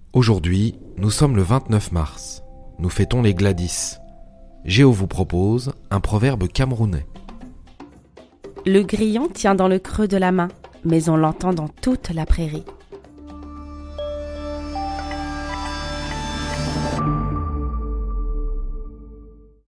Aujourd'hui, nous sommes le 29 mars. Nous fêtons les Gladys. Géo vous propose un proverbe camerounais. Le grillon tient dans le creux de la main, mais on l'entend dans toute la prairie.